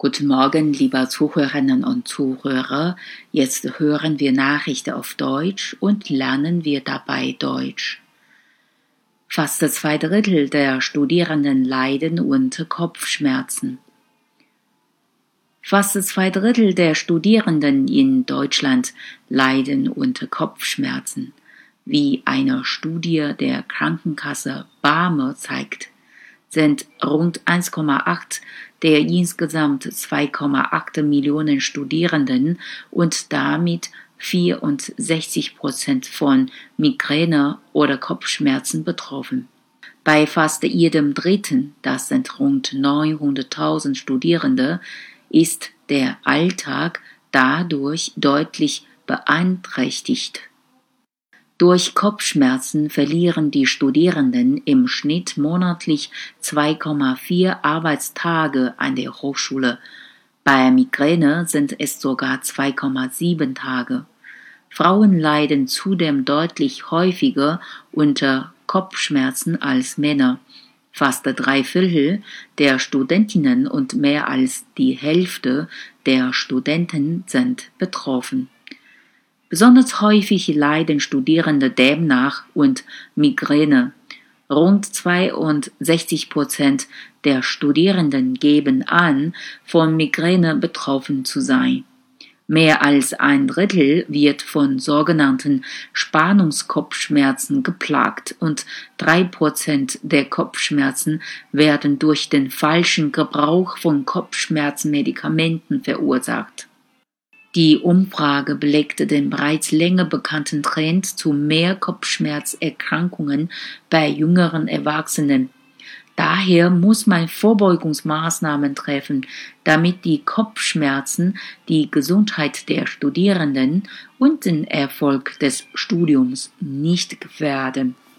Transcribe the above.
Guten Morgen, liebe Zuhörerinnen und Zuhörer. Jetzt hören wir Nachrichten auf Deutsch und lernen wir dabei Deutsch. Fast 2/3 der Studierenden leiden unter Kopfschmerzen. Fast 2/3 der Studierenden in Deutschland leiden unter Kopfschmerzen, wie eine Studie der Krankenkasse BAME zeigt. Sind rund 1,8 der insgesamt 2,8 Millionen Studierenden und damit 64% von Migräne oder Kopfschmerzen betroffen. Bei fast jedem Dritten, das sind rund 900.000 Studierende, ist der Alltag dadurch deutlich beeinträchtigt. Durch Kopfschmerzen verlieren die Studierenden im Schnitt monatlich 2,4 Arbeitstage an der Hochschule. Bei Migräne sind es sogar 2,7 Tage. Frauen leiden zudem deutlich häufiger unter Kopfschmerzen als Männer. Fast 3/4 der Studentinnen und mehr als die Hälfte der Studenten sind betroffen. Besonders häufig leiden Studierende demnach unter Migräne. Rund 62% der Studierenden geben an, von Migräne betroffen zu sein. Mehr als 1/3 wird von sogenannten Spannungskopfschmerzen geplagt und 3% der Kopfschmerzen werden durch den falschen Gebrauch von Kopfschmerzmedikamenten verursacht. Die Umfrage belegte den bereits länger bekannten Trend zu mehr Kopfschmerzerkrankungen bei jüngeren Erwachsenen. Daher muss man Vorbeugungsmaßnahmen treffen, damit die Kopfschmerzen die Gesundheit der Studierenden und den Erfolg des Studiums nicht gefährden.